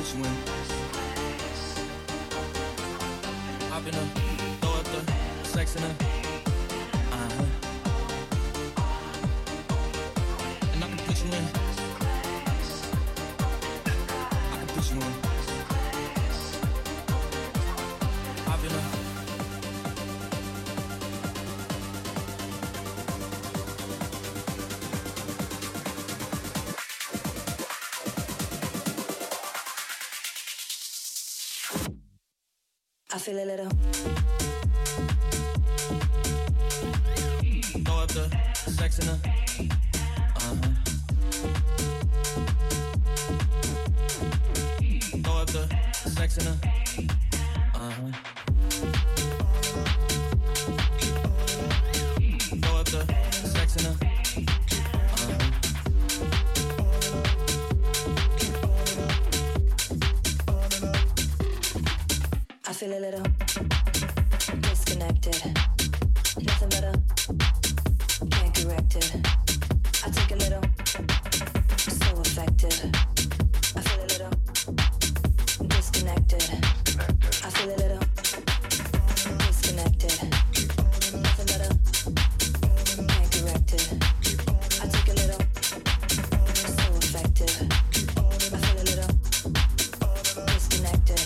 put you in. Hop in her, throw up the sex in her. And I can put you in. I can put you in. Hop in her. I feel a little. Throw up the sex in her. Throw up the sex in her. Throw up the sex in her. I feel a little disconnected. Nothing better, can't correct it. I take a little, so effective. I feel a little disconnected. I feel a little disconnected. Nothing better, can't correct it. I take a little, so effective. I feel a little disconnected.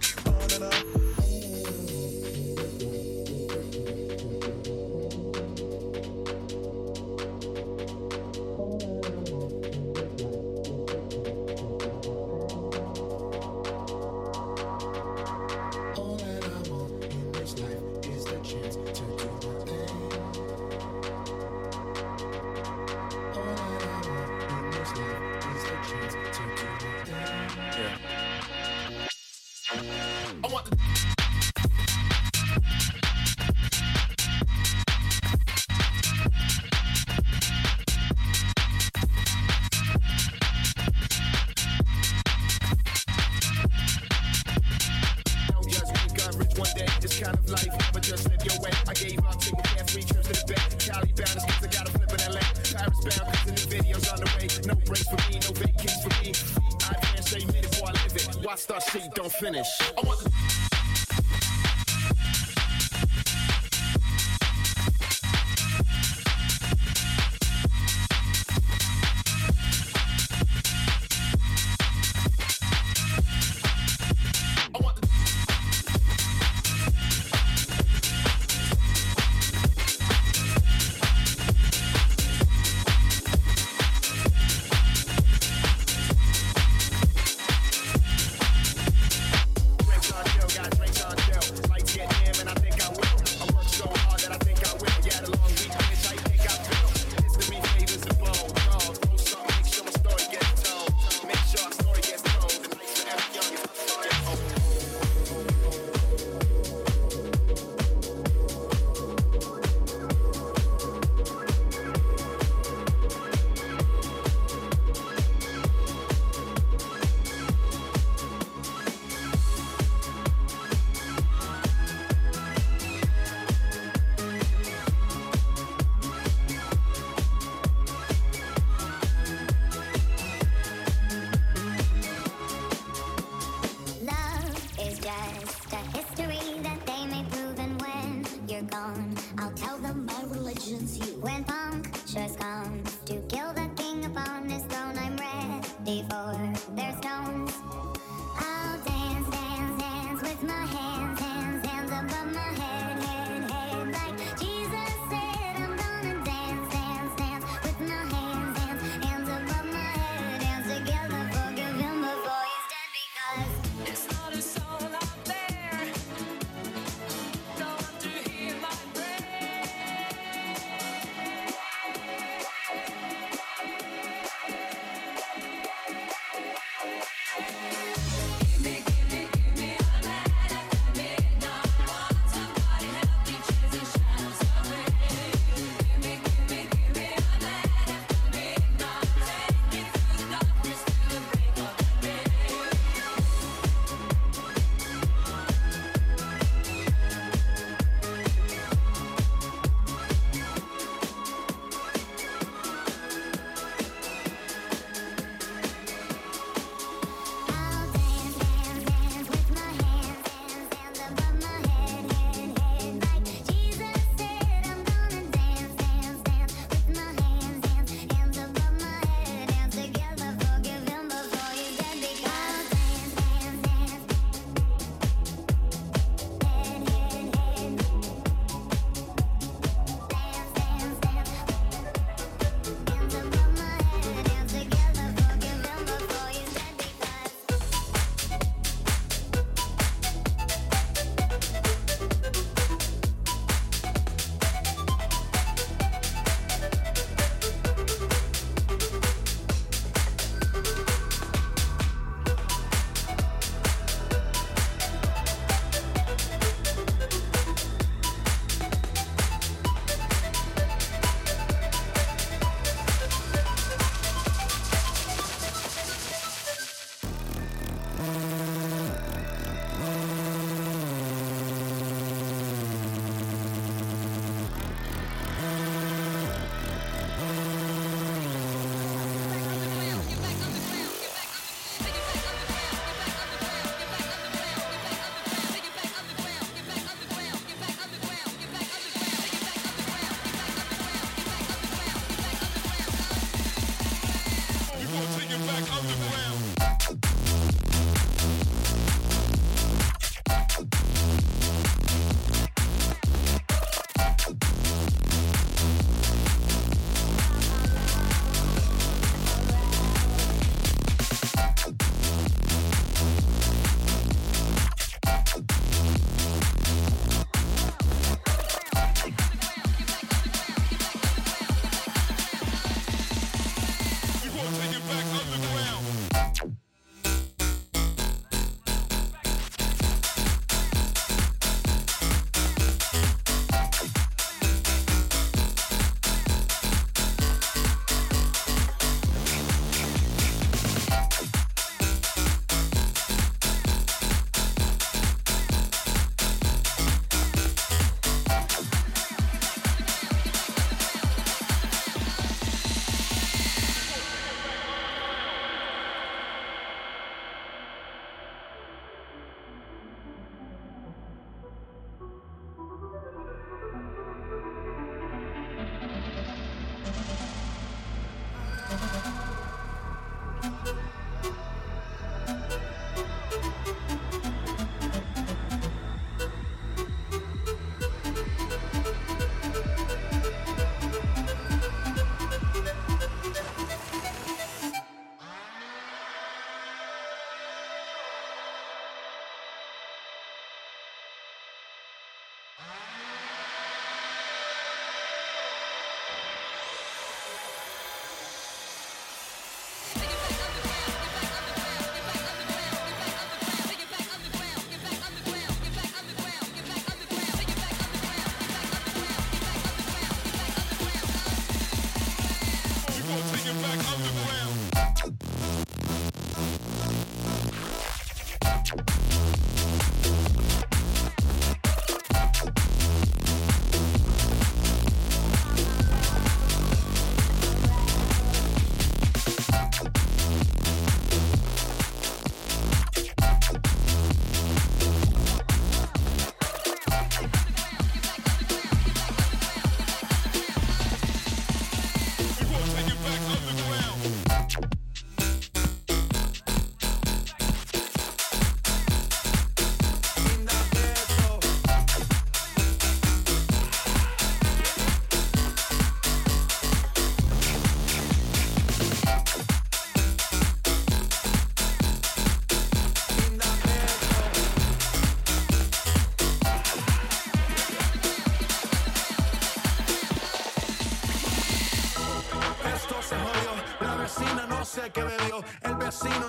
Finish.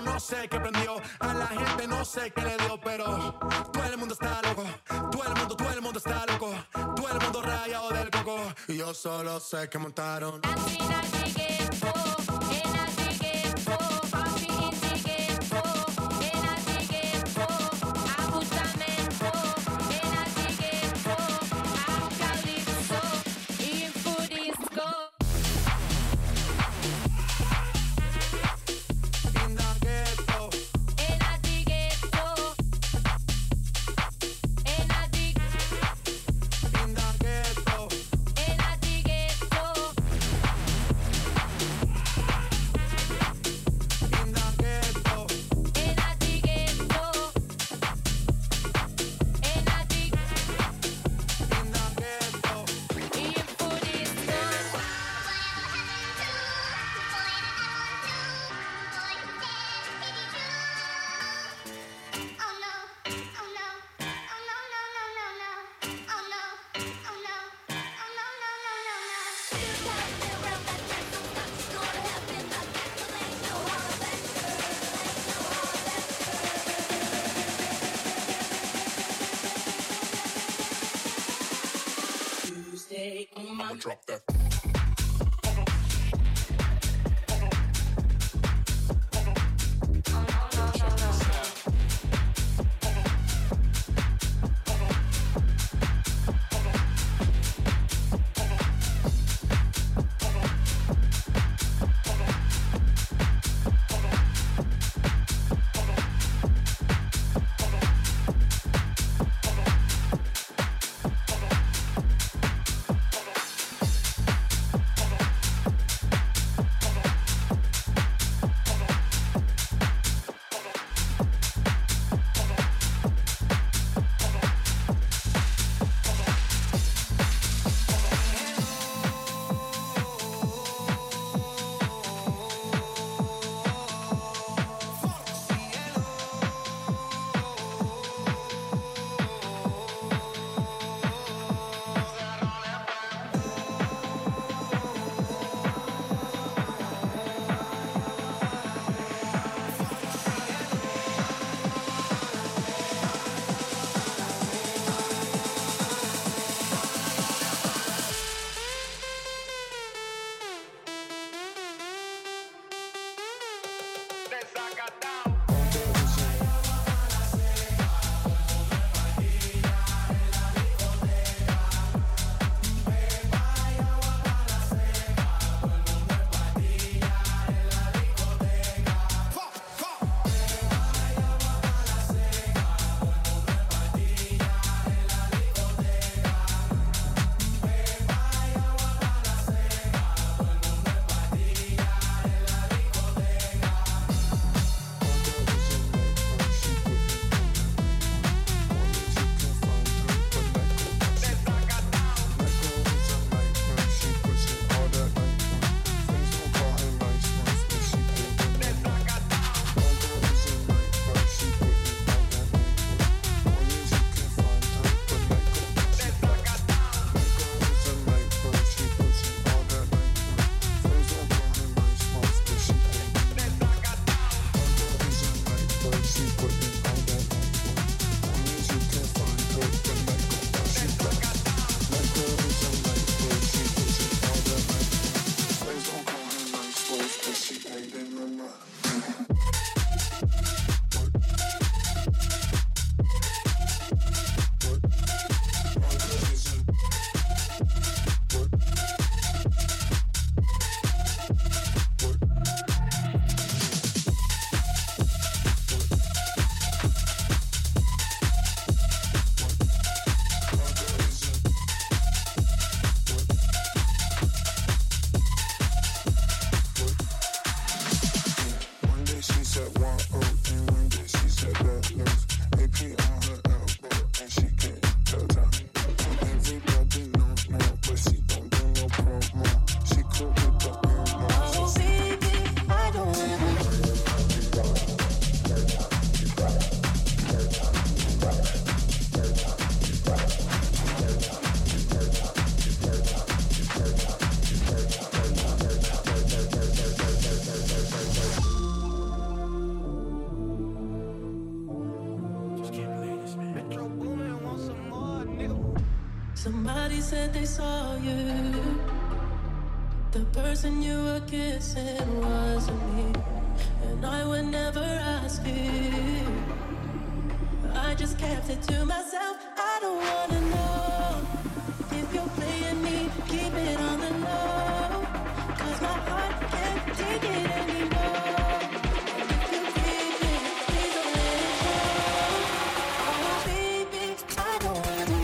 no sé qué prendió. A la gente no sé qué le dio, pero todo el mundo está loco. Todo el mundo está loco. Todo el mundo rayado del coco. Y yo solo sé que montaron. Drop that. Somebody said they saw you. The person you were kissing wasn't me, and I would never ask you. I just kept it to myself. I don't wanna know if you're playing me. Keep it on the low, 'cause my heart can't take it anymore. And if you breathe it, please don't let it show. Oh baby, I don't wanna.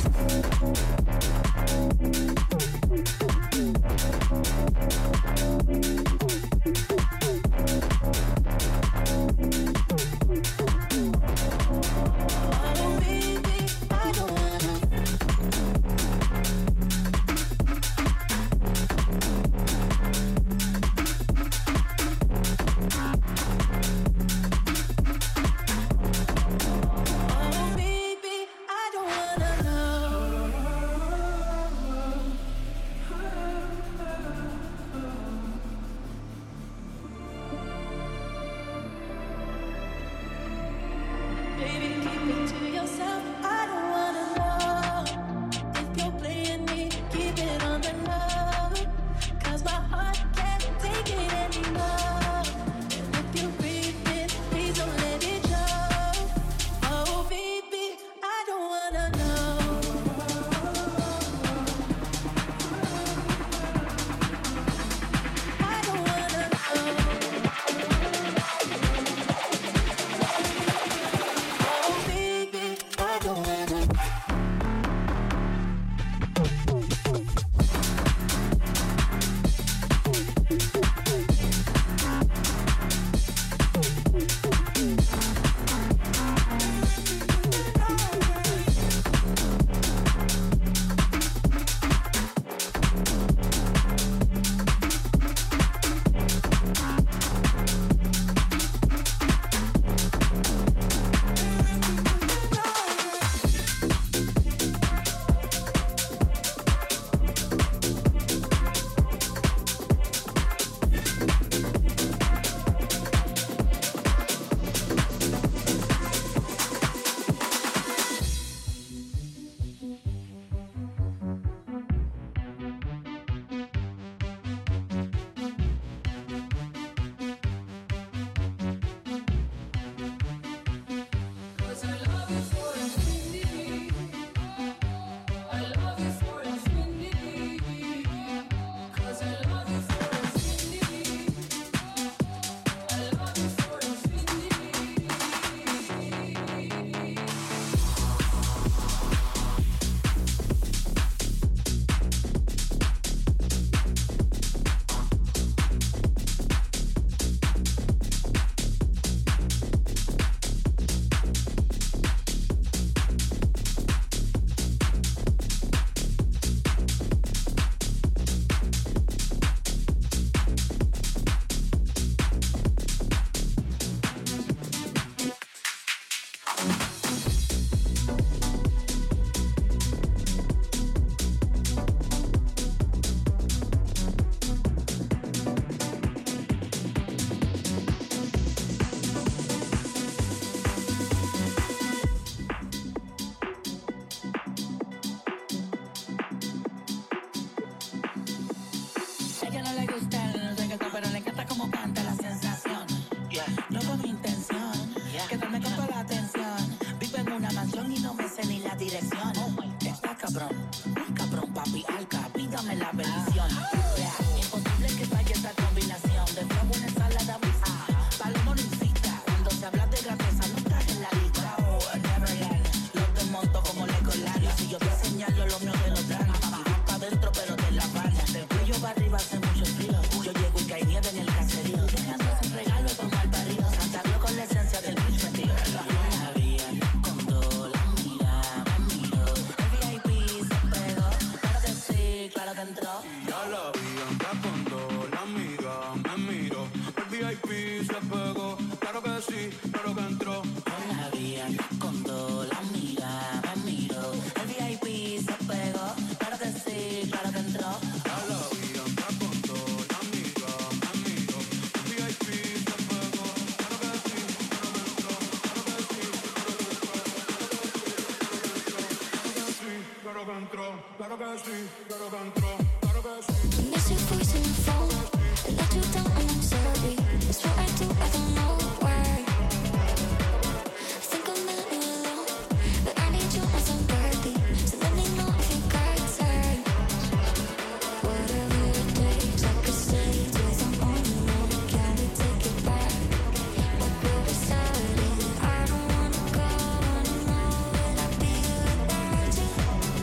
claro que sí, claro que entró, claro que sí. Miss your voice in the phone. I let you down and I'm sorry. It's what I do, I don't know why. I think I'm letting you alone, but I need you as I'm worthy. So let me know if you got time. Whatever it takes, I could stay till I'm on the road. Can we take it back? What we decided, I don't wanna go. Wanna know will I be without you?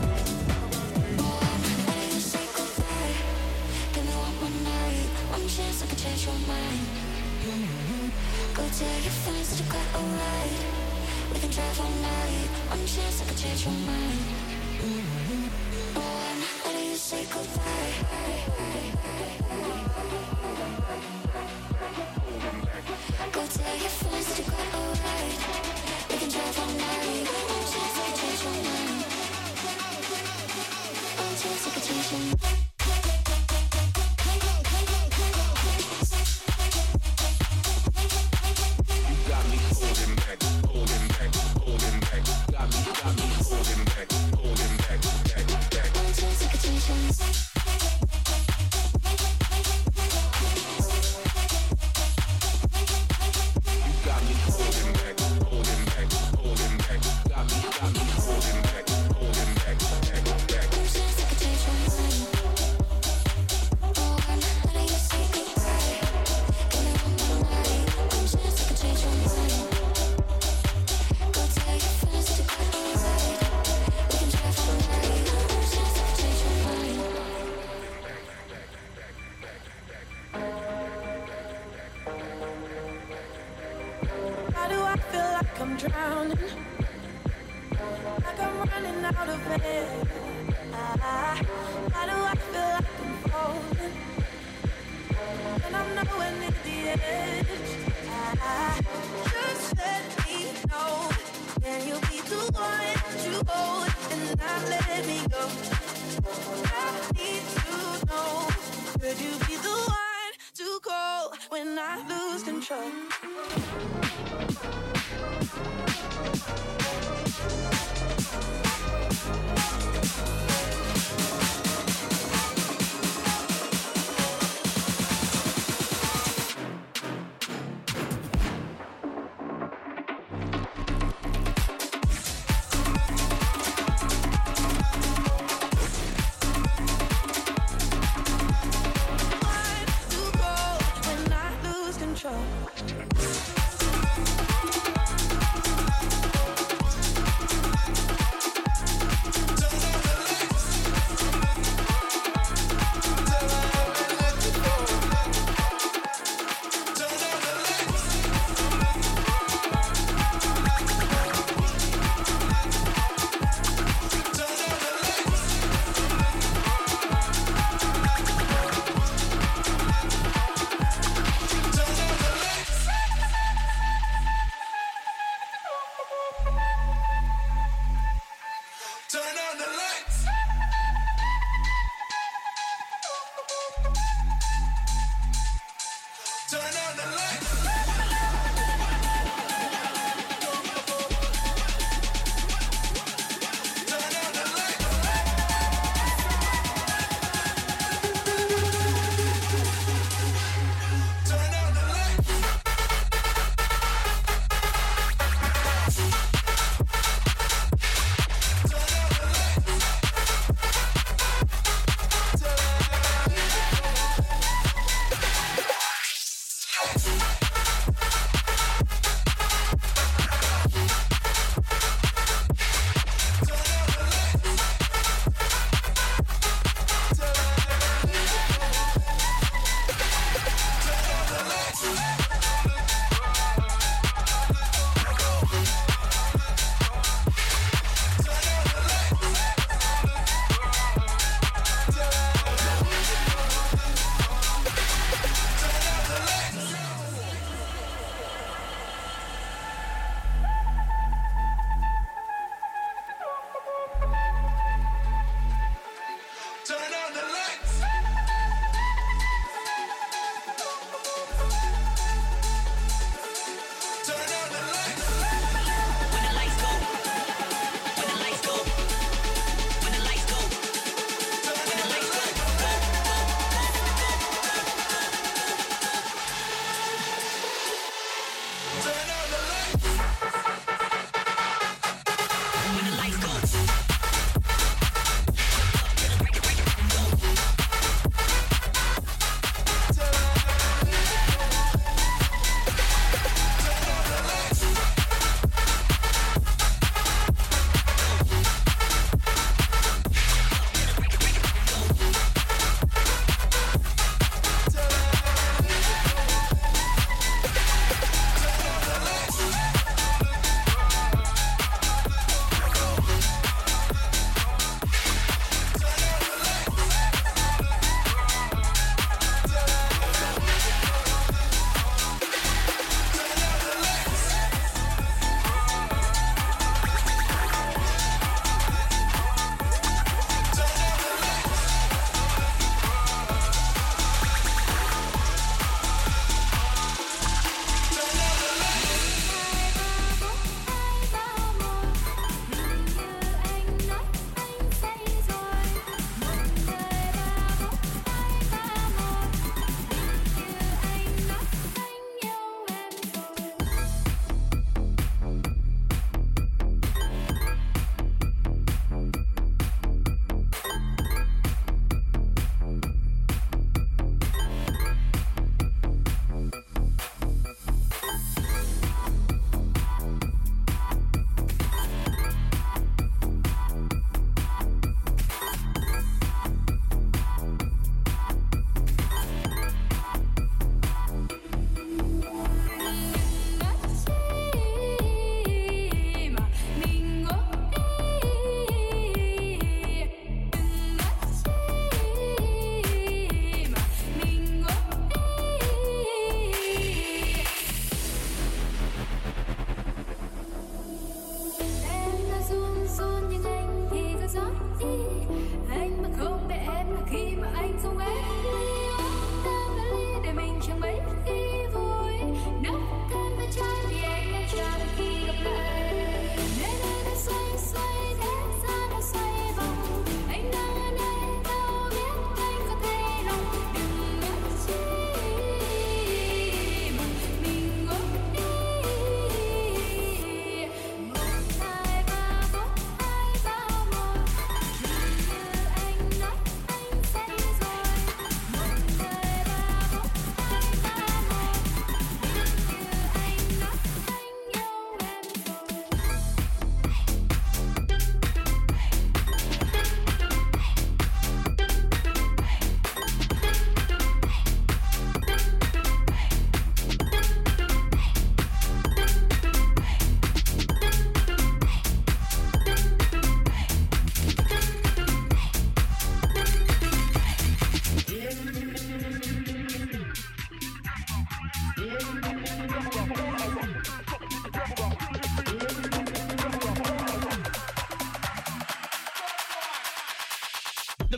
Why do you say goodbye? Give me one more night, one chance I could change your mind. Go tell your friends that you got a ride. We can drive all night, one chance I could change your mind. Why do you say goodbye? Go tell your friends that you got a ride. We can drive all night, one chance I could change your mind. One chance I could change your mind.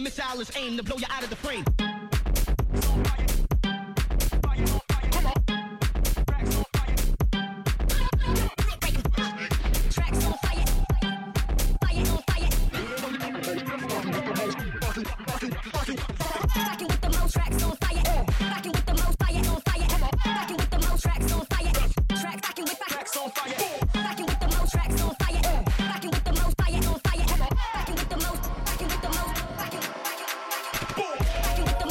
missile is aimed to blow you out of the frame. With the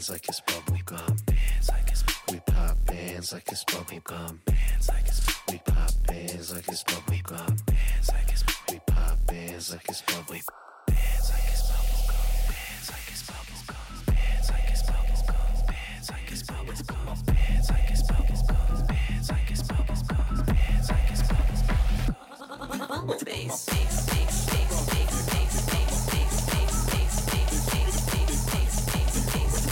bands like it's bubble gum. Bands like it's we pop bands like it's bubble gum. Bands like it's we pop bands like it's bubble gum. Bands like it's we pop bands like it's bubble. Bands like it's bubble gum. Bands like it's bubble gum. Bands like it's bubble gum. Bands like it's bubble gum. Bands like it's bubble gum. Bands like it's bubble gum. Bands like it's bubble gum. Bass, bass, bass, bass, bass, bass, bass, bass, bass, bass, bass, bass, bass, bass, bass, bass,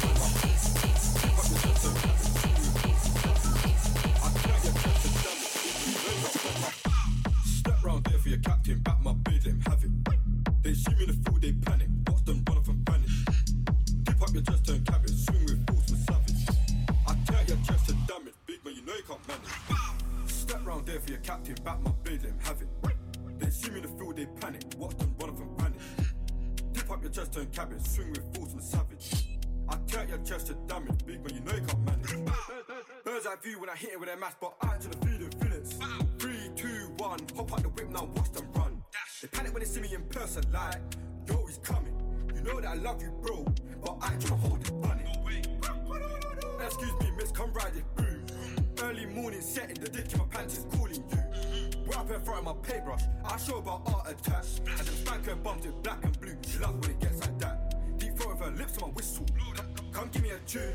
Step round there for your captain, back my beard, let him have it. They see me in the field, they panic. Watch them run off and vanish. Dip up your chest, turn cabbage. Swing with force with savage. I tear your chest to damage. Big man, you know you can't manage. Step round there for your captain, back my beard, let him have it. They see me in the field, they panic. Watch them run off and vanish. Dip up your chest, turn cabbage. Swing with force with savage. I tear your chest to damage. Big man, you know you can't manage. Birds eye view when I hit it with a mask, but I actually feel the feelings. 3, 2, 1, hop out the whip now, watch them run. They panic when they see me in person, like, yo, he's coming. You know that I love you, bro, but I ain't tryna hold it bunny. Excuse me, miss, come ride it, boom. Early morning setting, the dick in my pants is calling you. We're up in front of my paintbrush, I show about art attack. And them spanker bumps in black and blue, she loves when it gets like that. Deep throat of her lips on my whistle, come give me a tune.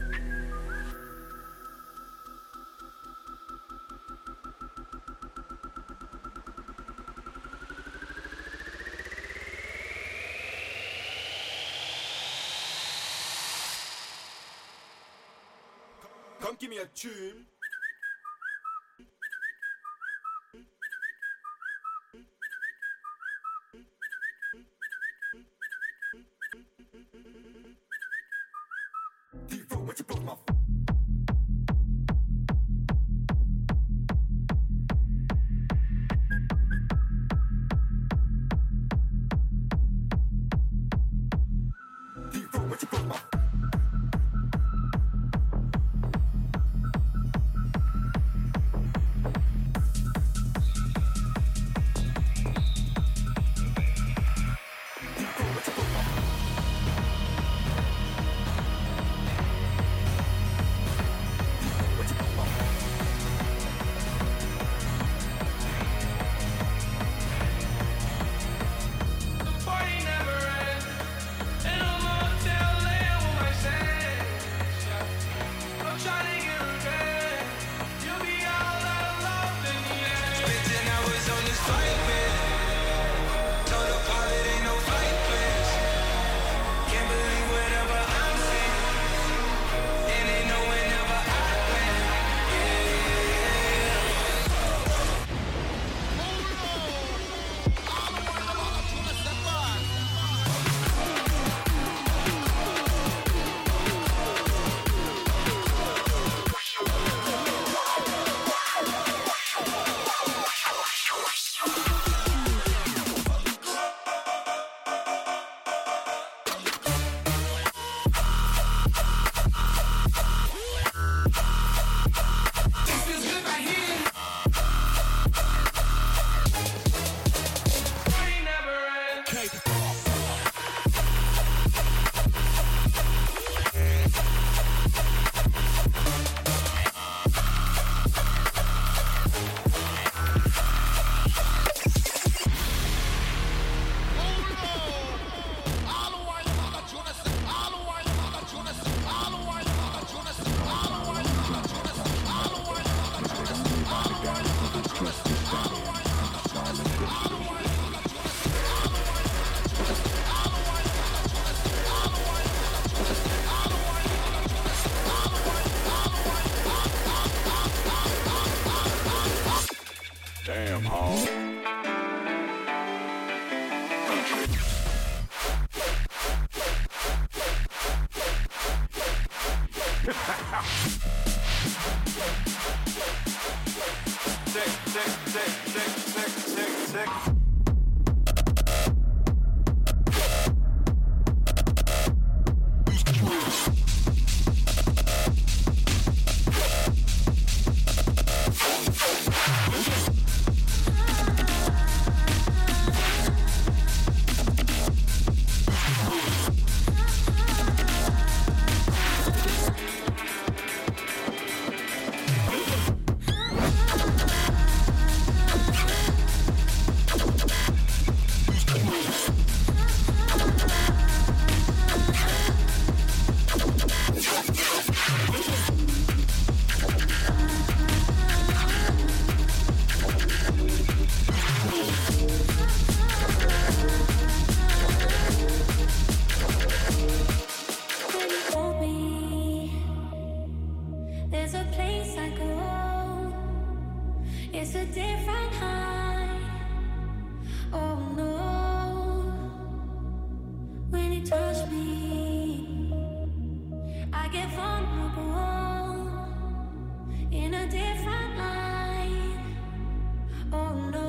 Come give me a tune. Deep throat when you broke my Deep throat when you broke my Damn, hog. It's a different high. Oh no. When you touch me, I get vulnerable in a different light. Oh no.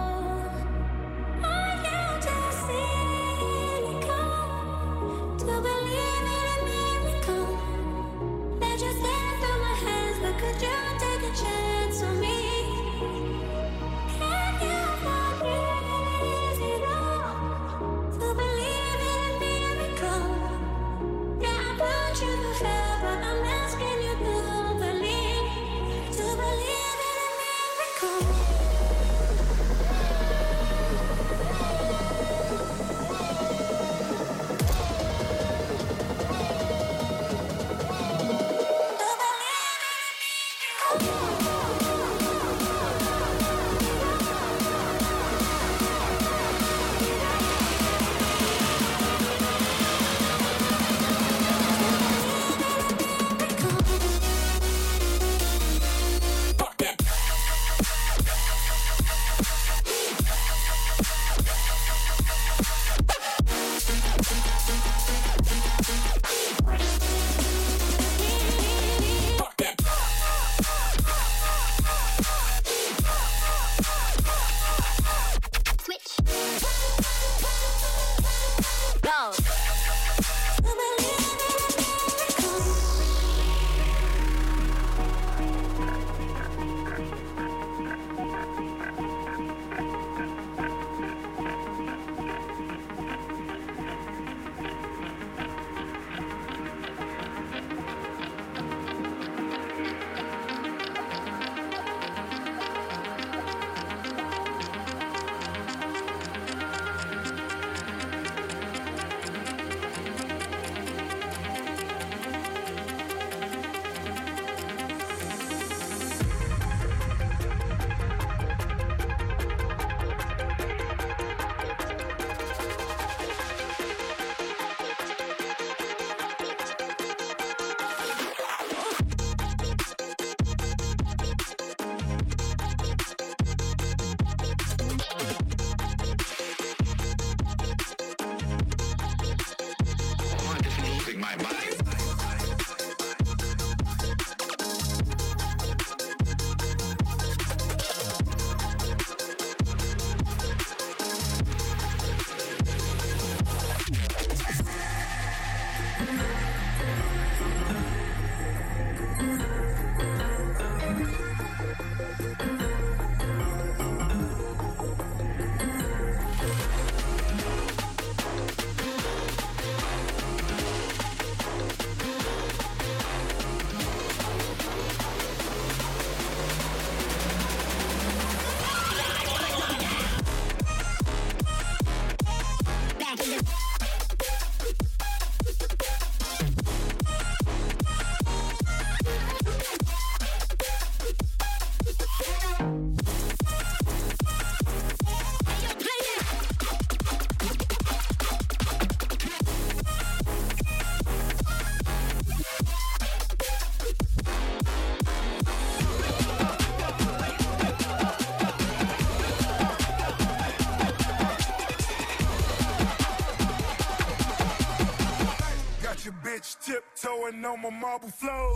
Are you just cynical to believe in a miracle that just slipped through my hands? But could you take a chance on me? Can you forgive it all to believe in a miracle? Yeah, I put you to hell, but I'm asking you to believe in a miracle. Tiptoeing on my marble floor.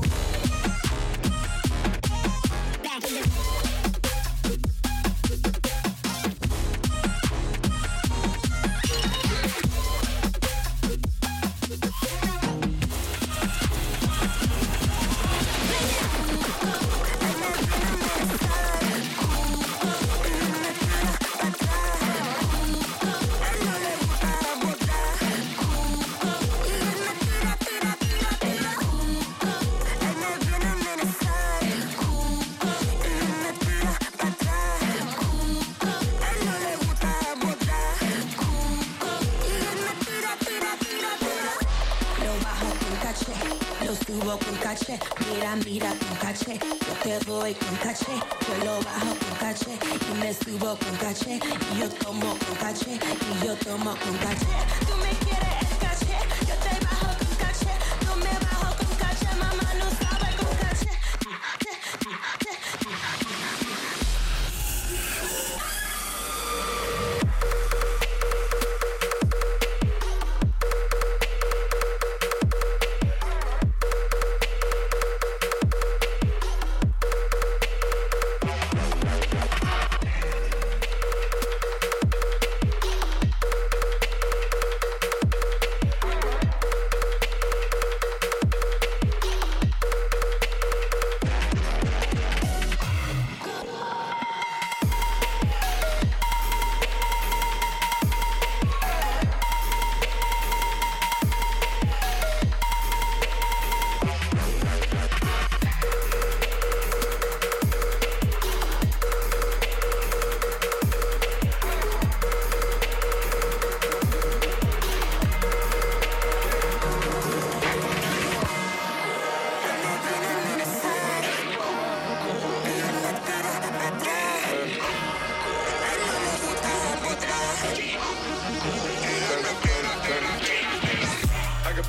subo con caché, mira, mira con caché, yo te doy con caché, yo lo bajo con caché, y me subo con caché, y yo tomo con caché, y yo tomo con caché. Tú me quieres el caché, yo te bajo con caché, tú me bajo con caché, mamá no sabe con caché.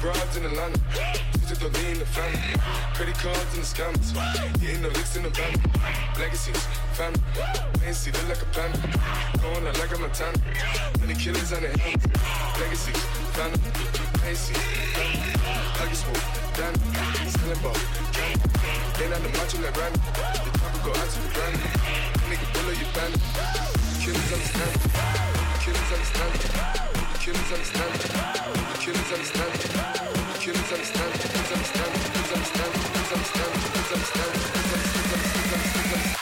broads in Atlanta. We took the lean in the family. Credit cards and the scammers. Getting no licks in the van. Legacies, family. Fancy, look like a panda. Going out like a Montana. Many killers on the hand. Legacies, family. Fancy, family. I get smooth, Danny. Selling ball, candy. They not the macho like Randy. The top will go out to the granny. Nigga, pull up your bandit. Killers understand. Killers understand. Killers understand. Killers understand. Killers understand. Killers understand. Killers understand. Killers understand. Killers understand. Killers understand.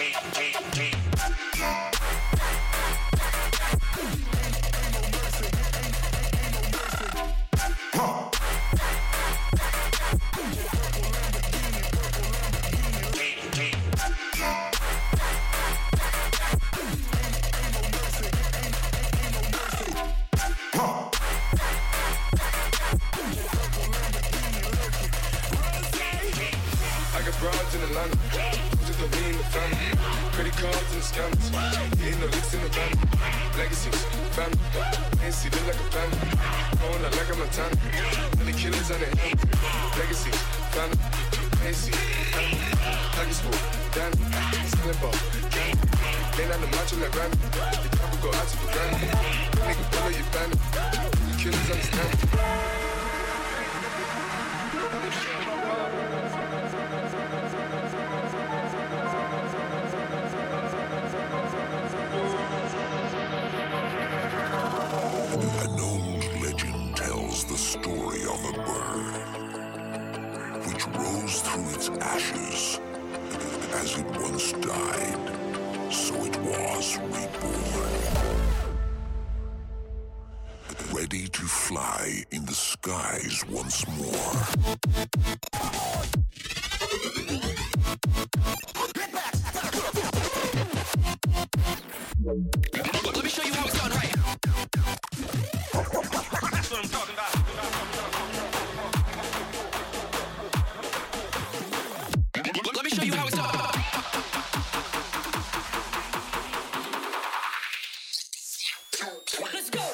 Broads in Atlanta, took the lean in the family. Credit cards and the scammers, getting no licks in the van. Legacies, family, fancy, look like a panda. Going out like a Montana, and the killers on the hand. Legacies, family, fancy, family. I get smooth, Danny, selling ball, candy. They not the macho like Randy. The top will go out to the granny. Nigga, pull up your bandit. Killers understand. An old legend tells the story of a bird which rose through its ashes. As it once died, so it was reborn. Ready to fly in the skies once more. Let me show you how it's done right. That's what I'm talking about. Let me show you how it's done. Let's go.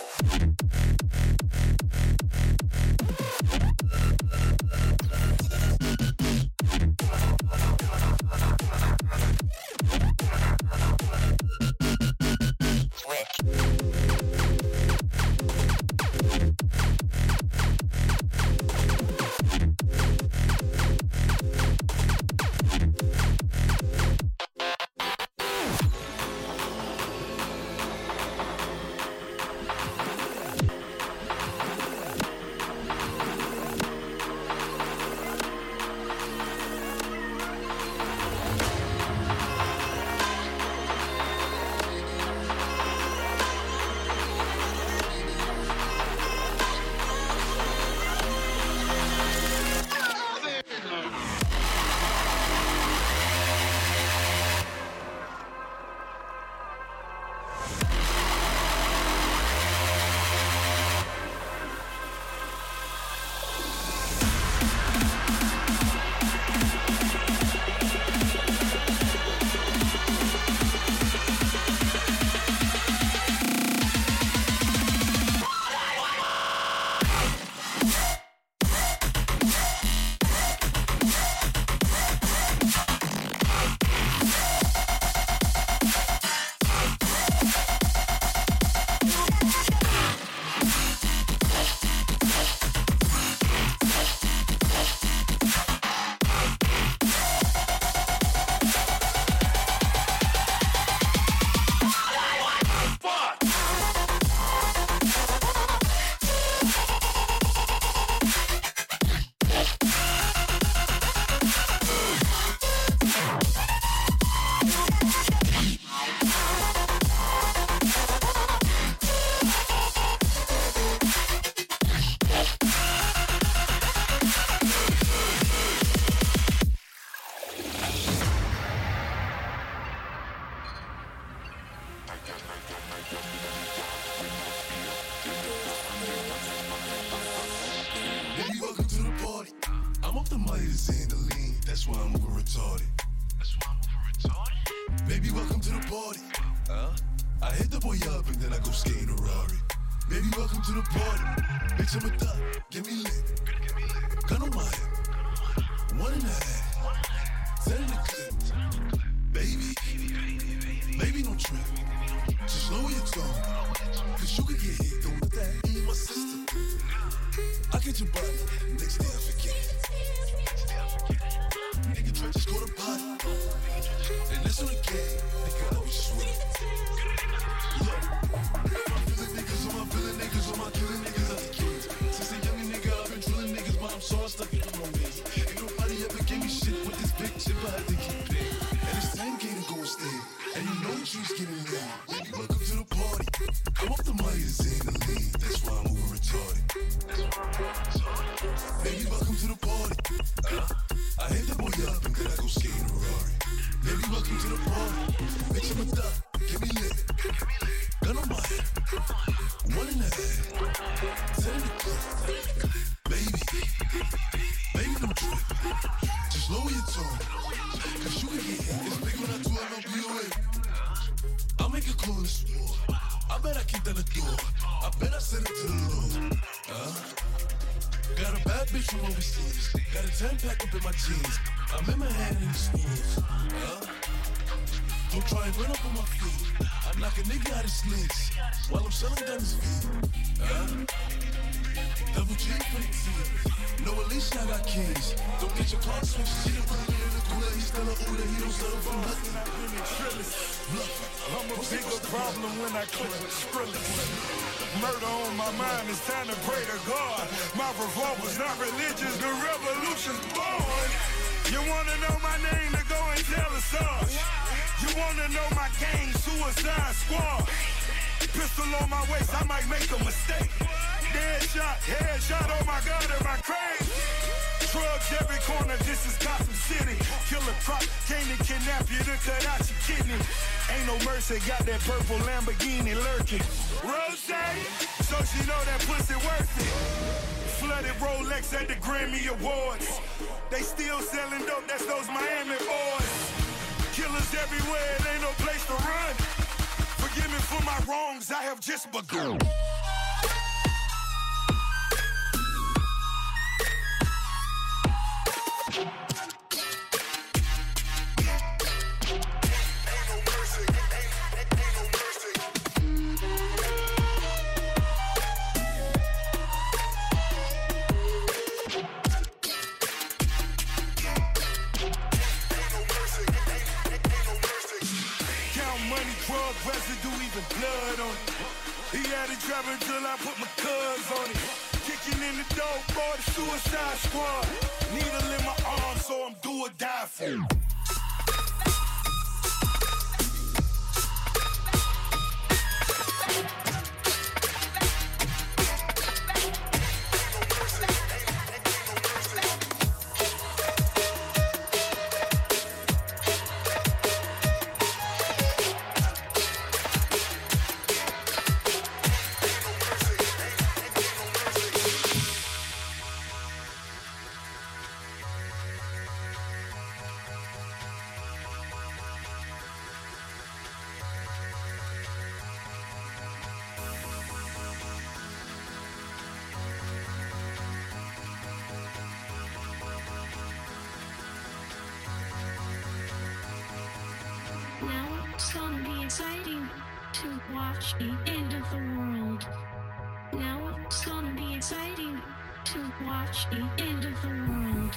That's why I'm over retarded. That's why I'm over retarded? Baby, welcome to the party. I hit the boy up and then I go skate in a Rari. Baby, welcome to the party. Bitch, I'm a thot, get me lit. Gun on my head. 1.5. 10 in the clip. Baby, baby, don't trip. Just lower your tone. Cause you could get hit. Don't let that in my system. I get your body. Next day I forget it. Nigga, just go to body. And that's on the game. Nigga, I was just with it. Look, I'm feeling niggas on my villain niggas on my killing niggas out the kids. Since a young nigga, I've been drilling niggas, but I'm so stuck in the romance. Ain't nobody ever gave me shit with this big chip, I had to keep it. And it's time game to go stay. And you know trees getting lit. Baby, welcome to the party. Come off the money to say the lead. That's why I'm over retarded. Baby, welcome to the party. I hit the boy up and then I go skate in a Rari. Baby, welcome to the party. Bitch, I'm a thot, get me lit. Gun on my head. 1.5. 10 in the clip. Baby, baby, don't trip. Just lower your tone. Cause you can get hit. It's big when I do it, I'll be away. I'll make a call in the store. I bet I keep down the door. I bet I send it to the Lord. Got a bad bitch from overseas. Got a 10-pack up in my jeans. I'm in my hand in the sneeze. Don't try and run up on my feet. I knock a nigga out of sneaks while I'm selling down his feet. Double G for the team. No, at least I got keys. Don't get your car switched. See the brother in the cooler. He's still a Uda. He don't settle for nothing. I'm a bigger problem when I click with Skrillex. Murder on my mind, it's time to pray to God. My revolver's not religious, the revolution's born. You wanna know my name, to go and tell us us. You wanna know my gang, Suicide Squad. Pistol on my waist, I might make a mistake. Headshot, oh my God, am I crazy? Drugs every corner, this is Gotham City. Killer Croc came to kidnap you to cut out your kidney. Ain't no mercy, got that purple Lamborghini lurking. Rose, so she know that pussy worth it. Flooded Rolex at the Grammy Awards. They still selling dope, that's those Miami boys. Killers everywhere, it ain't no place to run. Forgive me for my wrongs, I have just begun. Residue, even blood on it. He had it driving till I put my cuz on it. Kicking in the door, boy, the Suicide Squad. Needle in my arm, so I'm do or die for it. It's gonna be exciting to watch the end of the world. Now it's gonna be exciting to watch the end of the world.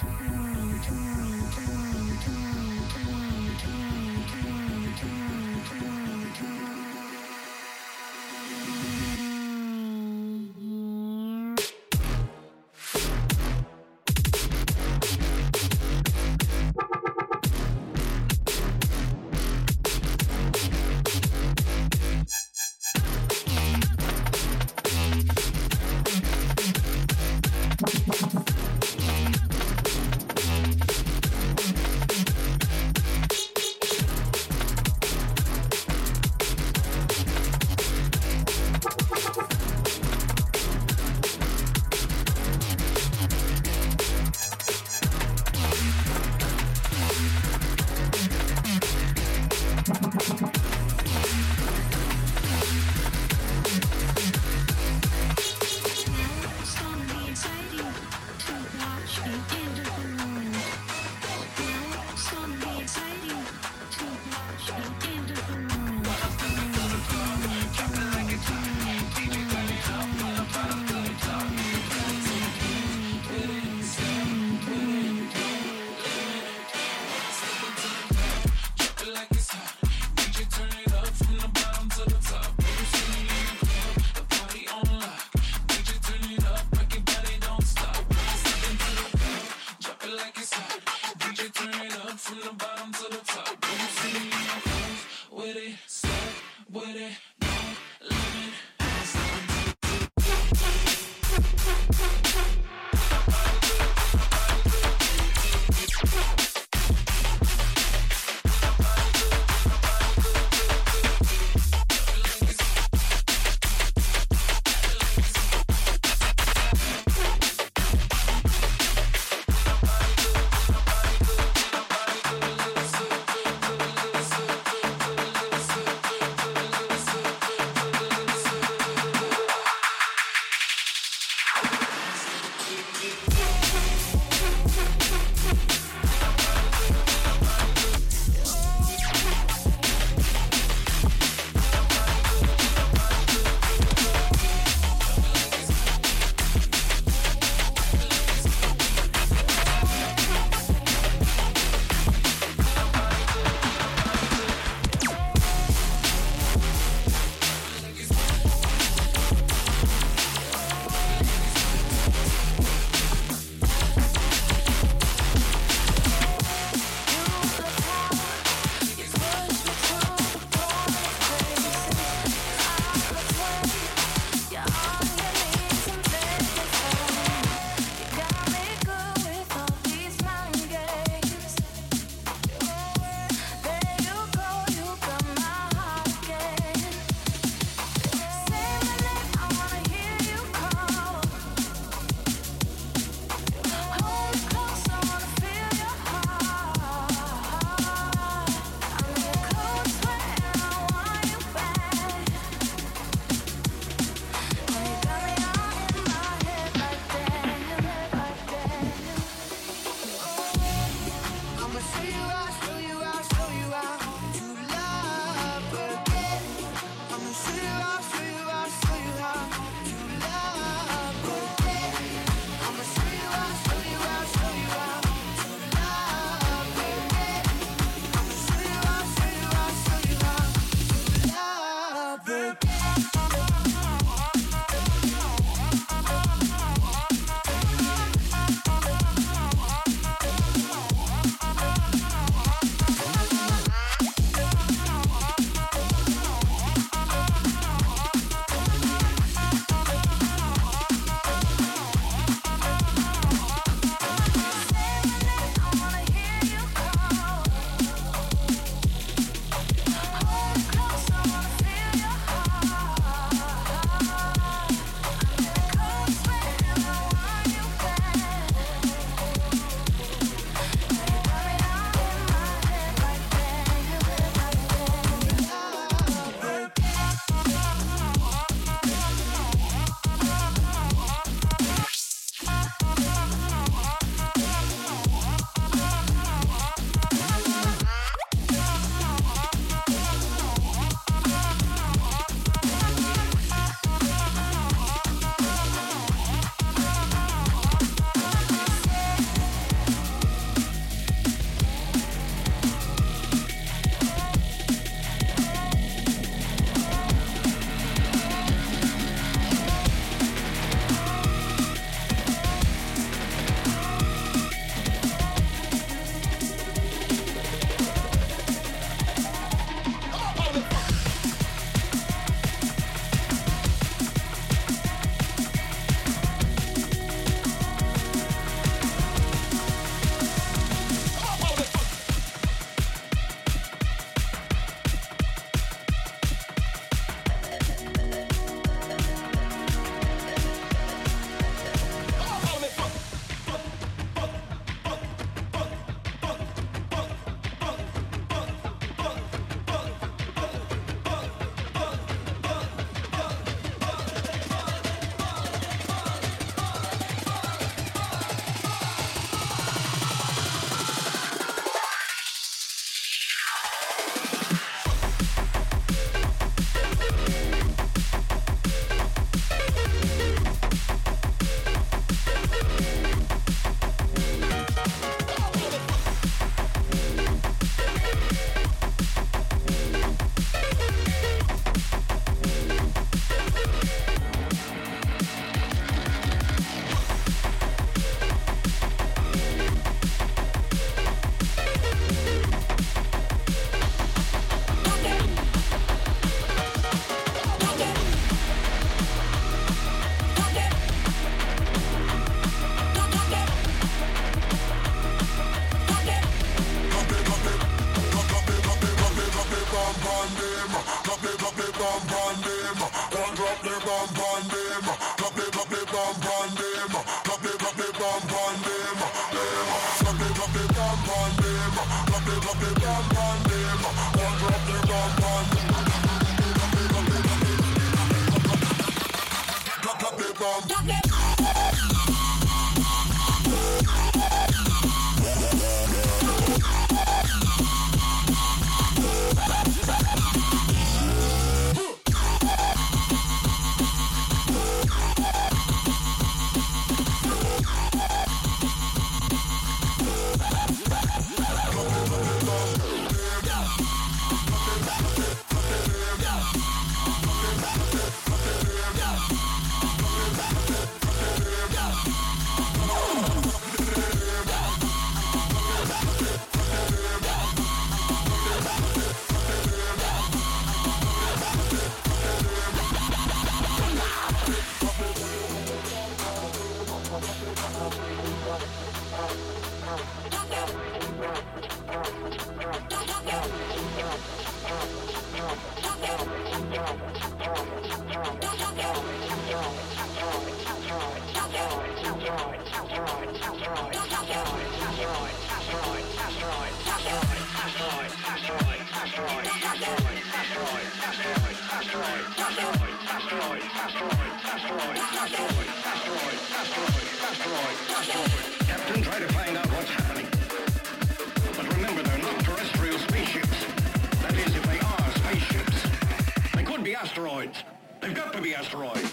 it's hot. DJ turn it up from the bottom to the top. Baby, see me in the club, the party on lock. DJ turn it up, make your body don't stop. Step into the club, drop it like it's hot. DJ turn it up from the bottom to the top. Baby, see me in the club, with it, step with it, don't limit. on them. Drop the bomb on them. One drop the bomb on them. Drop the bomb on them. Drop the bomb on them. Drop the bomb on them. Drop the bomb on them. One drop the bomb on them. Drop the bomb. Captain, try to find out what's happening. But remember, they're not terrestrial spaceships. That is, if they are spaceships. They could be asteroids. They've got to be asteroids.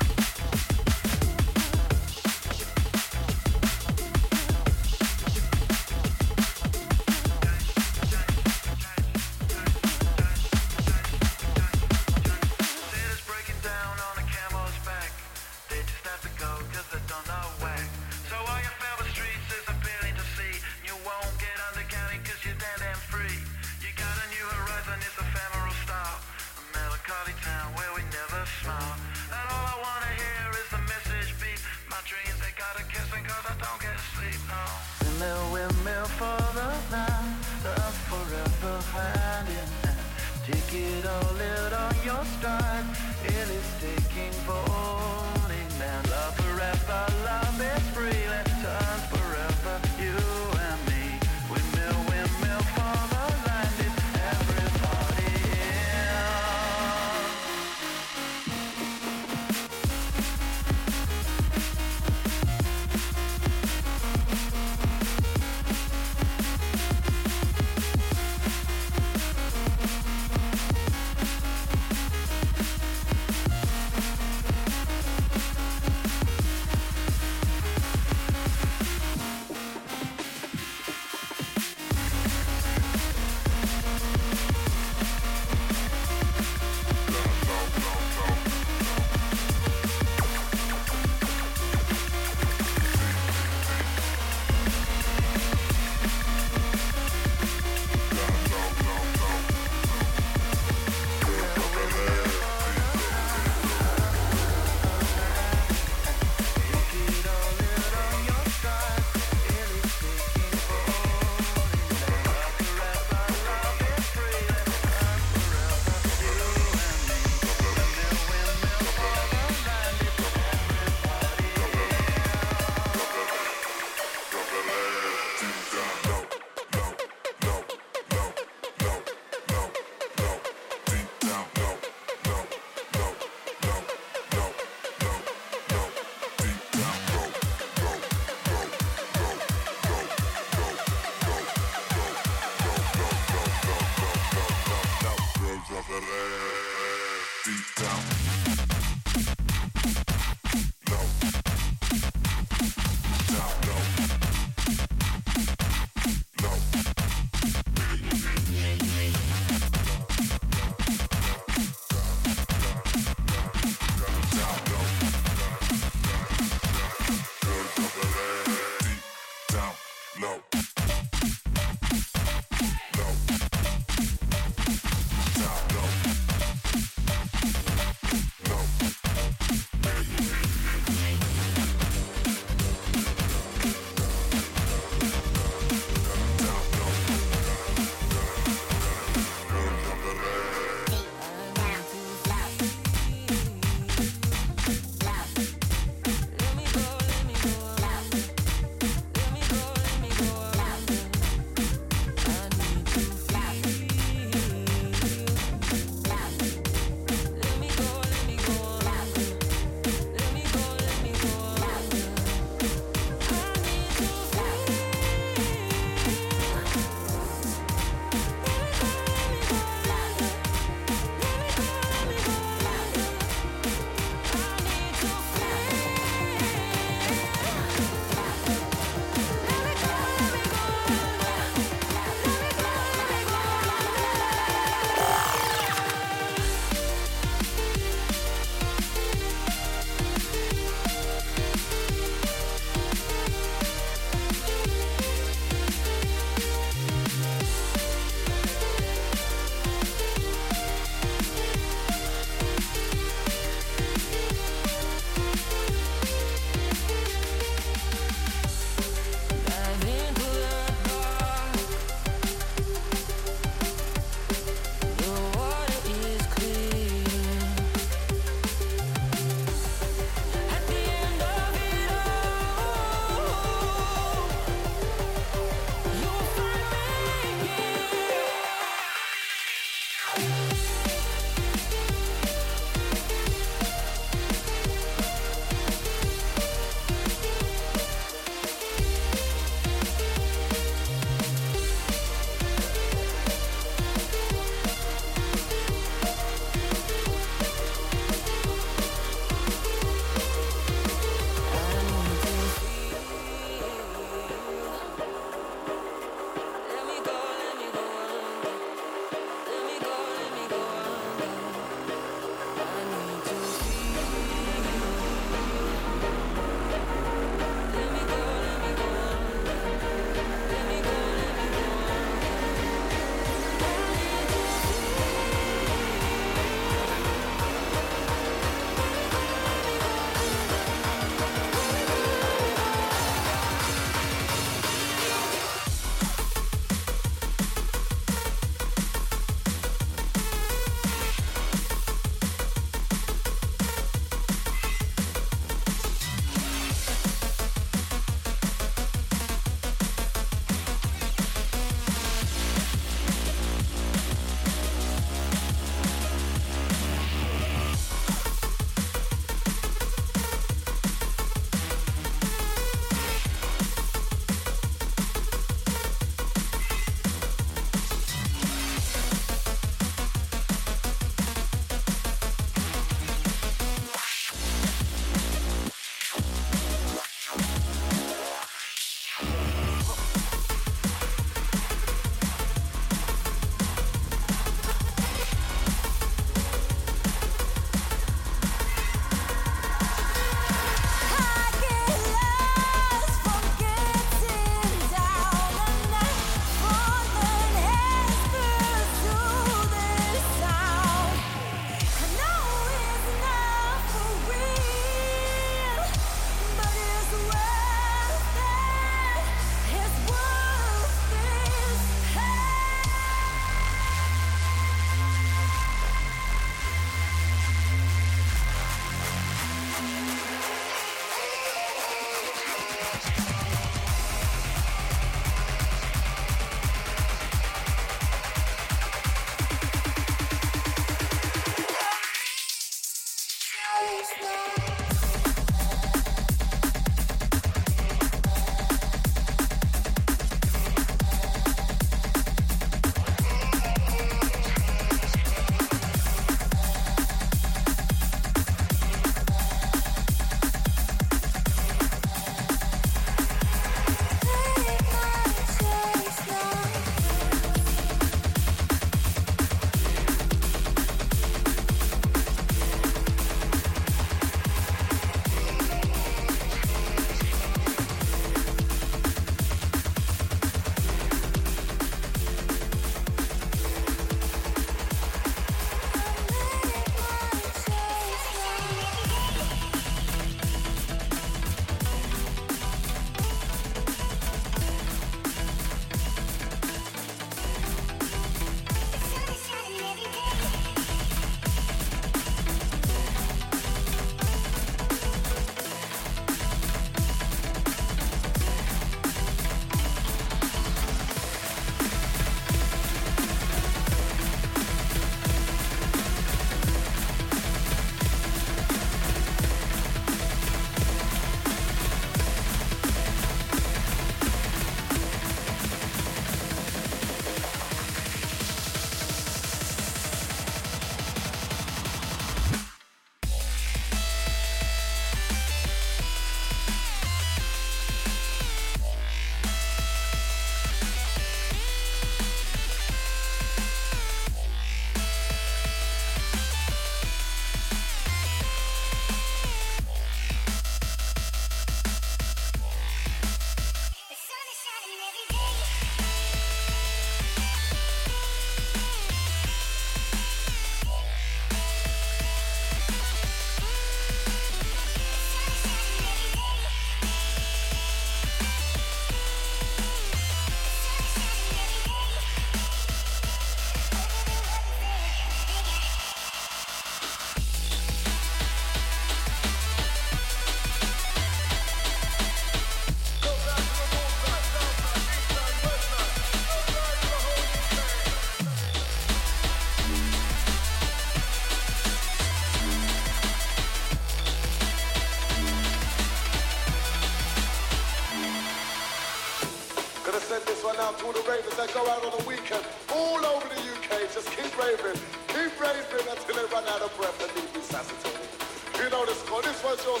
to send this one out to all the ravers that go out on the weekend all over the UK. Just keep raving until they run out of breath and leave me sassy. You know the score. This one's yours.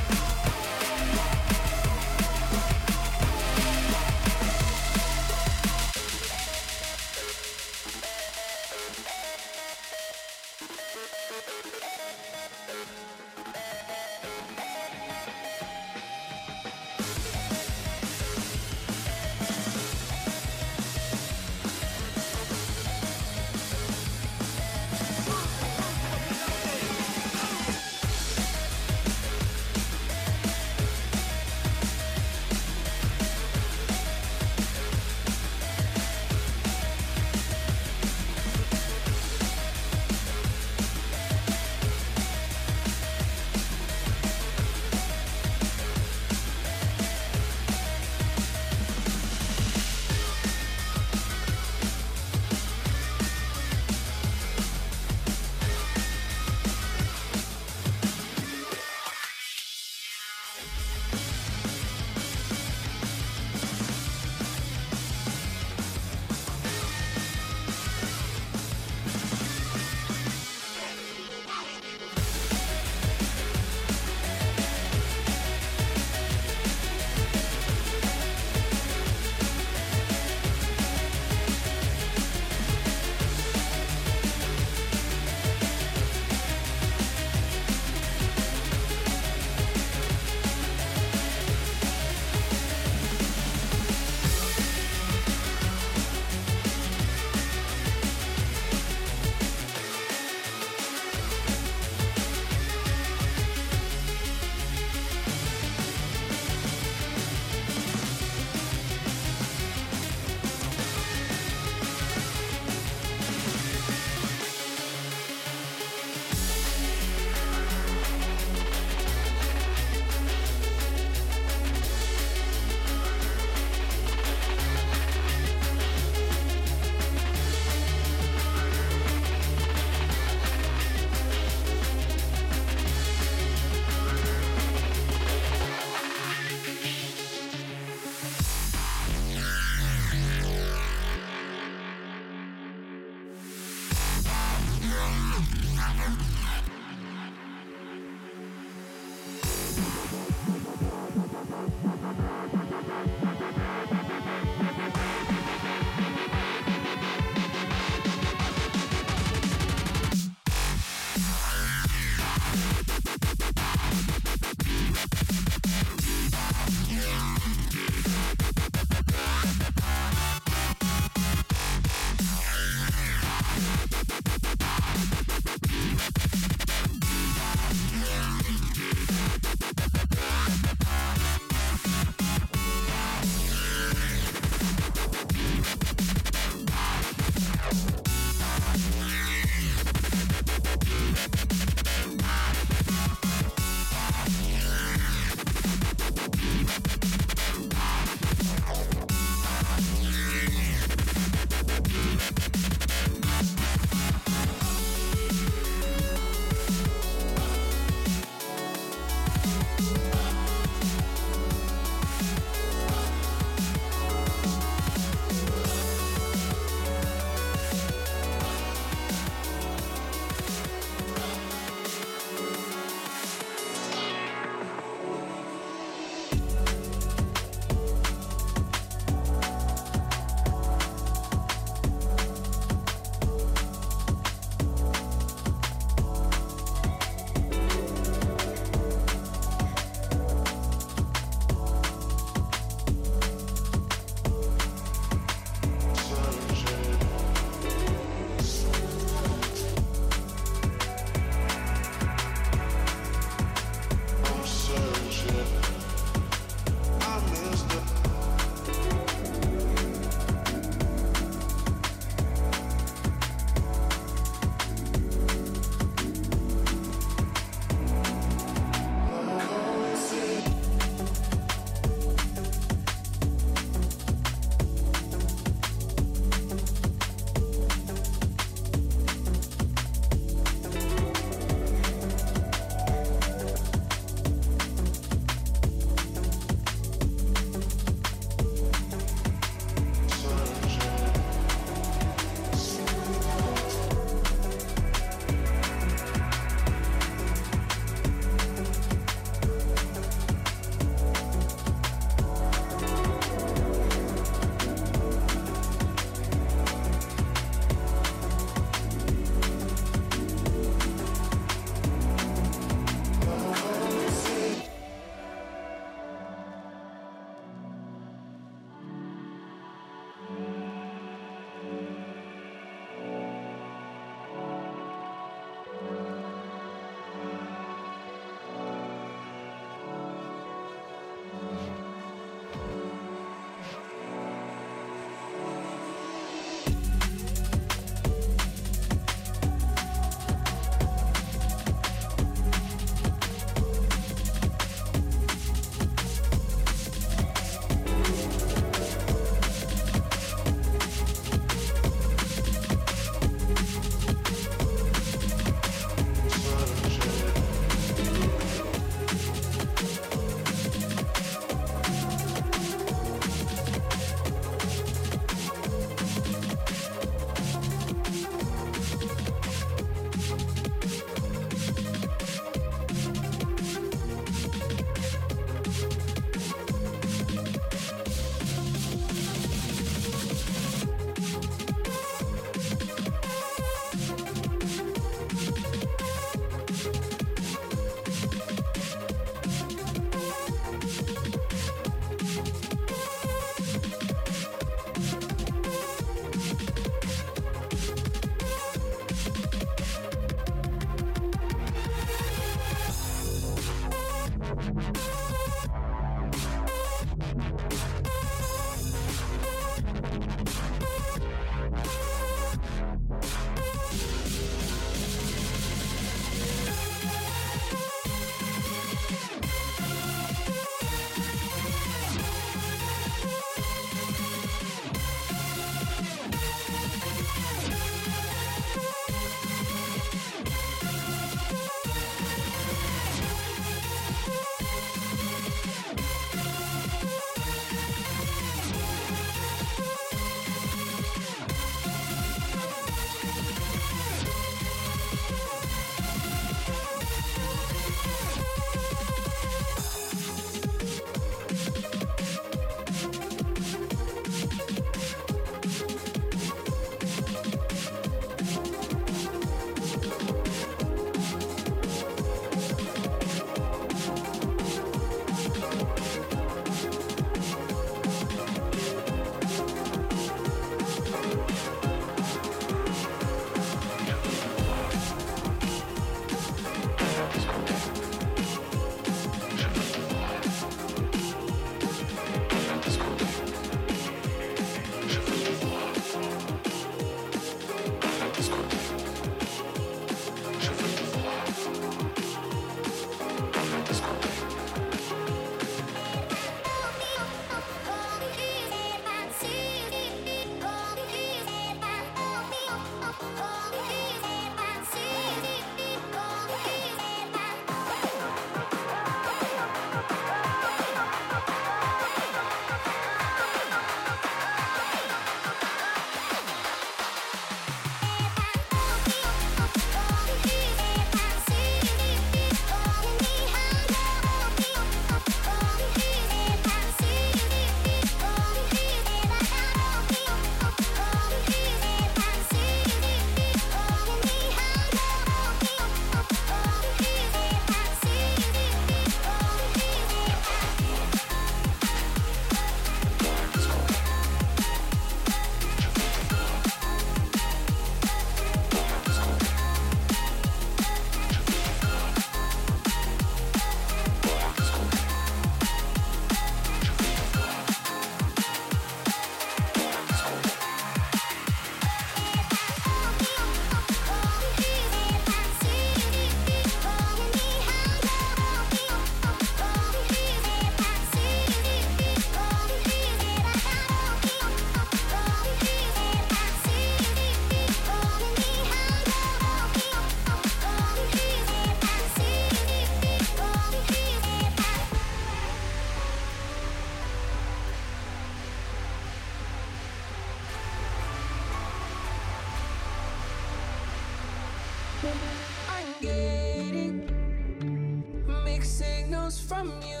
from you.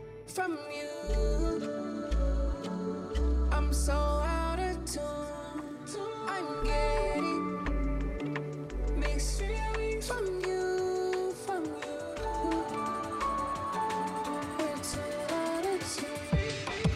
I'm so out of tune. I'm getting mixed feelings from you. We're too out of tune.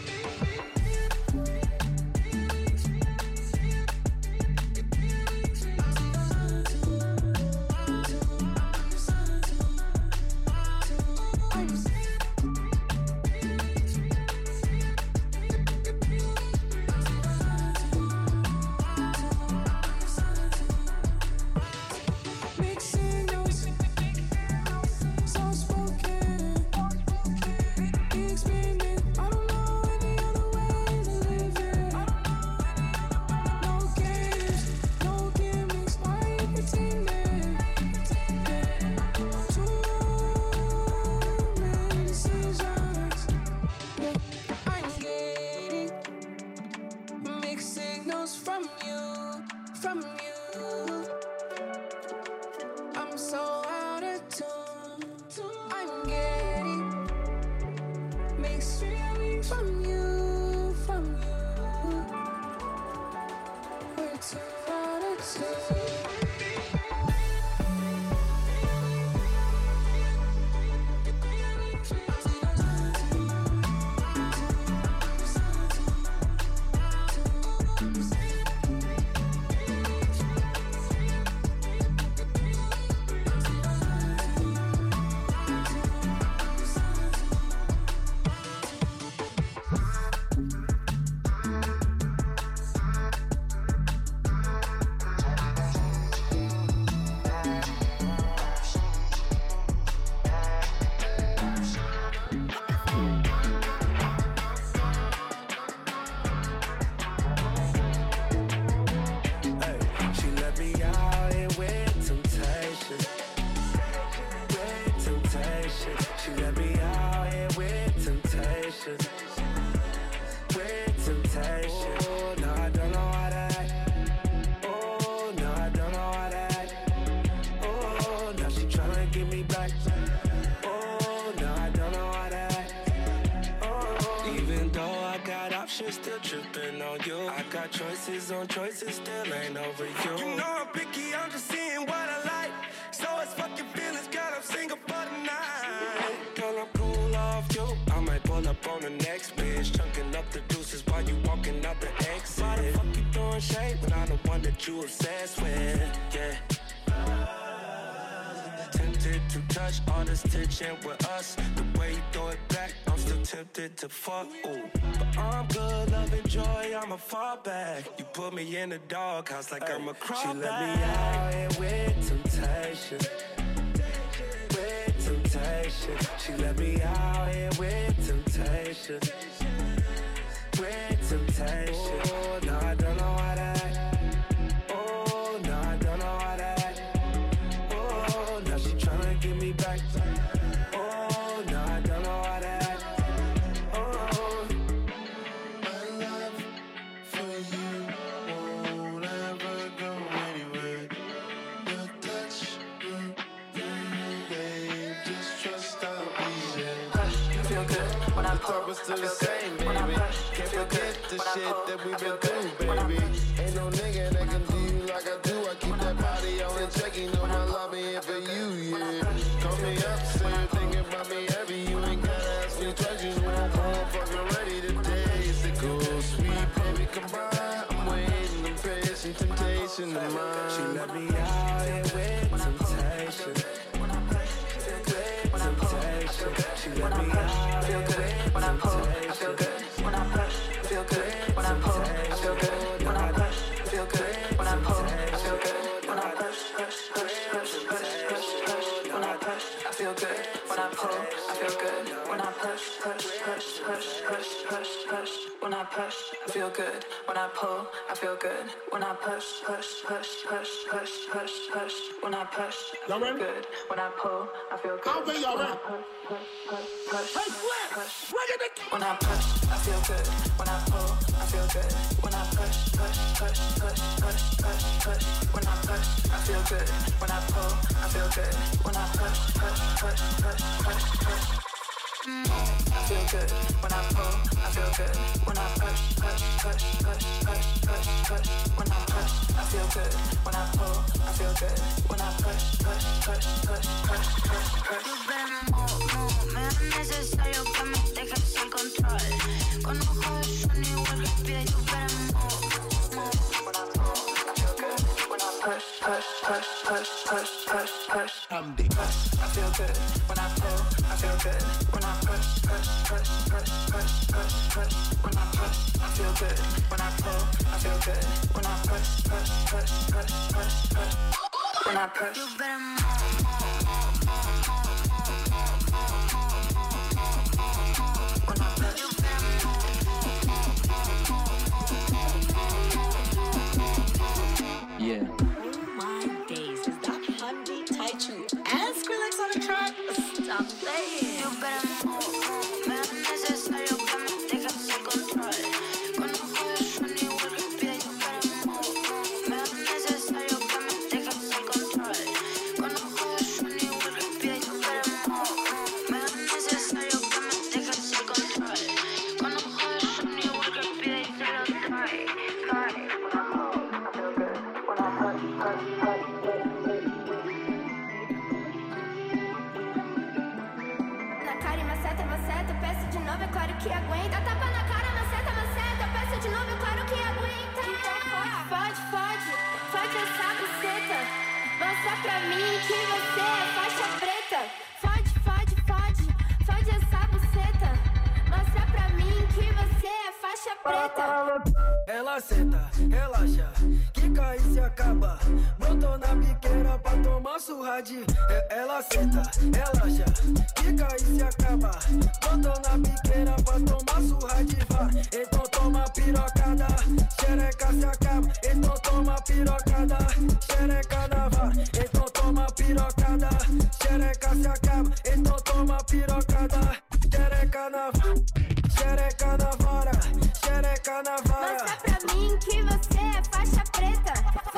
Choices still ain't over you. You know I'm picky, I'm just seeing what I like. So it's fucking feelings, girl, I'm single for the night. Girl, I'm cool off you. I might pull up on the next bitch, chunking up the deuces while you walking out the exit. Why the fuck you throwing shade when I'm the one that you obsessed with? Yeah. Tempted to touch all this tension with us. The way you throw it back, I'm still tempted to fuck. Ooh. But I'm good, loving joy, I'ma fall back. You put me in the doghouse like I'm a crawl. She let me out here with temptation. With temptation. She let me out here with temptation. With temptation. Oh, no, I don't know how to act. Oh, no, I don't know how to act. Oh, now she tryna get me back. Oh, no, I don't know how to act. Oh, my love for you won't ever go anywhere. Your touch, babe, just trust I'll be there. I feel good when I pull. We're still the same, baby. Can't forget the shit that we've been through, baby. Ain't no nigga that can do you like I do. I keep that body on and check. You know my love here for you, yeah. Call me up, say you're thinking about me heavy. You ain't gotta ask me twice. You know I'm fucking ready today. It's a good, sweet baby, come by. I'm waiting, I'm patient, temptation of mine. she let me out here with temptation. With temptation. She let me out here with when I pull. I temptation. feel good when I push. I feel good when I pull. I feel good when I push. I feel good when I pull. I feel good when I push. When I push. I feel good when I pull. I feel good when I push. When I push. I feel good when I pull. I feel good when I push. When I push. I feel good when I pull. I feel good. I'll be y'all ready. When I push, I feel good. When I pull, I feel good. When I push. When I push, I feel good. When I pull, I feel good. When I push. I feel good when I pull. I feel good when I push. When I push, I feel good when I pull. I feel good when I push. Me es necesario que me dejes el control. Con ojos de sueño igual que pie, you better move. When I pull, I feel good when I push. I'm the I feel good when I pull. I feel good when I push. When I push, I feel good when I pull. I feel good when I push. When I push, you better yeah. Oh my days, is that Hamdi Taichu and Skrillex on the track? Stop saying. You better move. Me es necesario que me dejes el control. Con ojos de sueño igual que pie, you better move. Me es necesario que me dejes el control. Con ojos de sueño igual que pie, you better move. Me es necesario que me dejes el control. Con ojos de sueño igual que pie, y se lo trae. Na cara e maceta, eu peço de novo, é claro que aguenta. Tapa na cara, maceta, eu peço de novo, é claro que aguenta. Fode essa buceta. Mostra pra mim que você é faixa preta. Fode essa buceta. Mostra pra mim que você é faixa preta. Ela senta, relaxa, quica e se acaba. Brotou na biqueira pra tomar surra de. Ela senta, relaxa, quica e se acaba. Brotou na biqueira pra tomar surra de vara. Então toma pirocada, xereca se acaba. Então toma pirocada, xereca na vara. Então toma pirocada, xereca se acaba. Então toma pirocada, xereca na vara. Xereca na vara, xereca na vara. Mostra pra mim que você é faixa preta.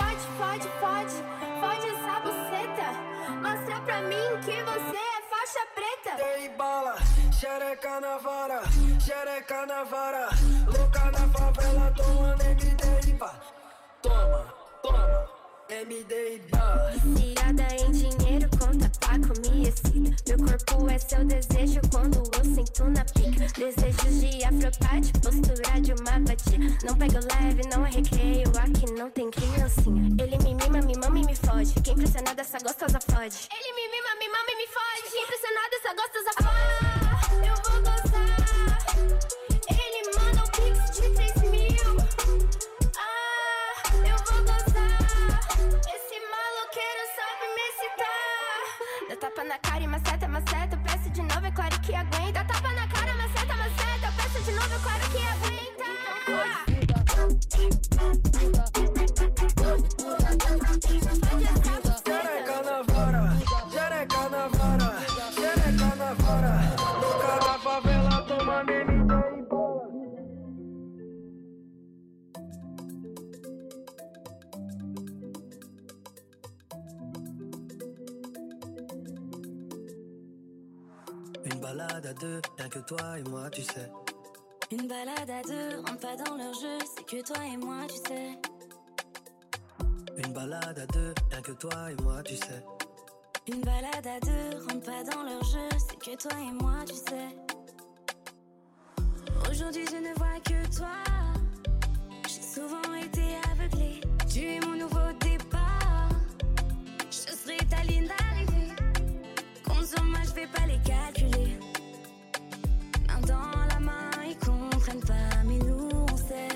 Fode essa buceta. Mostra pra mim que você é faixa preta. Dei bala, xereca na vara, xereca na vara. Louca na favela, tomando MD e bala. Toma, MD e bala. Viciada em dinheiro, conta Paco, me excita. Meu corpo é seu desejo quando eu sinto na pica. Desejos de afropate, postura de uma vadia. Não pego leve, não é recreio, aqui não tem criancinha. Ele me mima, me mama e me foge. Fiquei impressionada, essa gostosa fode. Ele me mima, me mama e me foge. Fiquei impressionada, essa gostosa fode. Eu vou gozar. Ele manda um pix de 3.000. Eu vou gozar. Esse maloqueiro sabe me excitar. Dá tapa na cara e maceta, eu peço de novo, é claro que aguenta. Dá tapa na cara, maceta, eu peço de novo, é claro que aguenta. Xereca na vara, xereca na vara, xereca na vara. Louca na favela, tomando MD e bola. Une balade à deux, rien que toi et moi, tu sais. Une balade à deux, rentre pas dans leur jeu, c'est que toi et moi, tu sais. Une balade à deux, rien que toi et moi, tu sais. Une balade à deux, rentre pas dans leur jeu, c'est que toi et moi, tu sais. Aujourd'hui je ne vois que toi, j'ai souvent été aveuglée. Tu es mon nouveau départ, je serai ta ligne d'arrivée. Compte sur moi, je vais pas les calculer. Main dans la main, ils comprennent pas, mais nous on sait.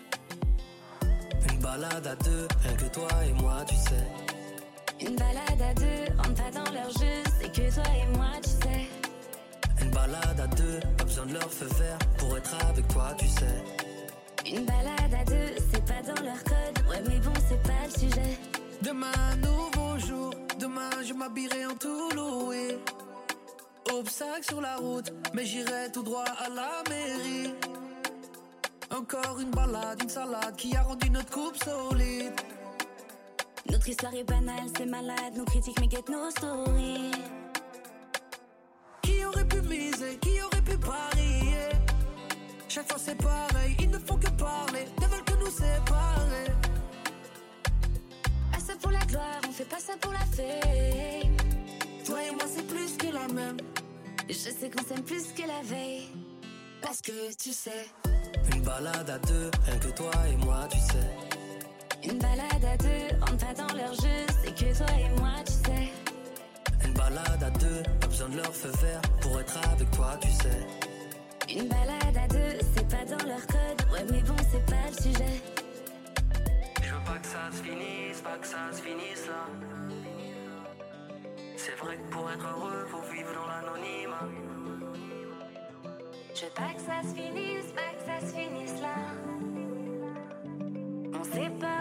Une balade à deux, rien que toi et moi, tu sais. Une balade à deux, rentre pas dans leur jeu, c'est que toi et moi, tu sais. Une balade à deux, pas besoin de leur feu vert pour être avec toi, tu sais. Une balade à deux, c'est pas dans leur code, ouais mais bon c'est pas le sujet. Demain un nouveau jour, demain je m'habillerai en tout loué. Obstacle sur la route, mais j'irai tout droit à la mairie. Encore une balade, une salade qui a rendu notre couple solide. Notre histoire est banale, c'est malade, nos critiques mais get nos stories. Qui aurait pu miser, qui pareil, ils ne font que parler, ne veulent que nous séparer. Ah ça pour la gloire, on fait pas ça pour la fame. Toi et moi c'est plus que la même. Je sais qu'on s'aime plus que la veille. Parce que tu sais, une balade à deux, rien que toi et moi, tu sais. une balade à deux, rentre pas dans leur jeu, c'est que toi et moi, tu sais. Une balade à deux, pas besoin de leur feu vert pour être avec toi, tu sais. Une balade à deux, c'est pas dans leur code, ouais mais bon c'est pas le sujet. Je veux pas que ça se finisse, pas que ça se finisse là. C'est vrai que pour être heureux, faut vivre dans l'anonymat. Je veux pas que ça se finisse, pas que ça se finisse là. On sait pas.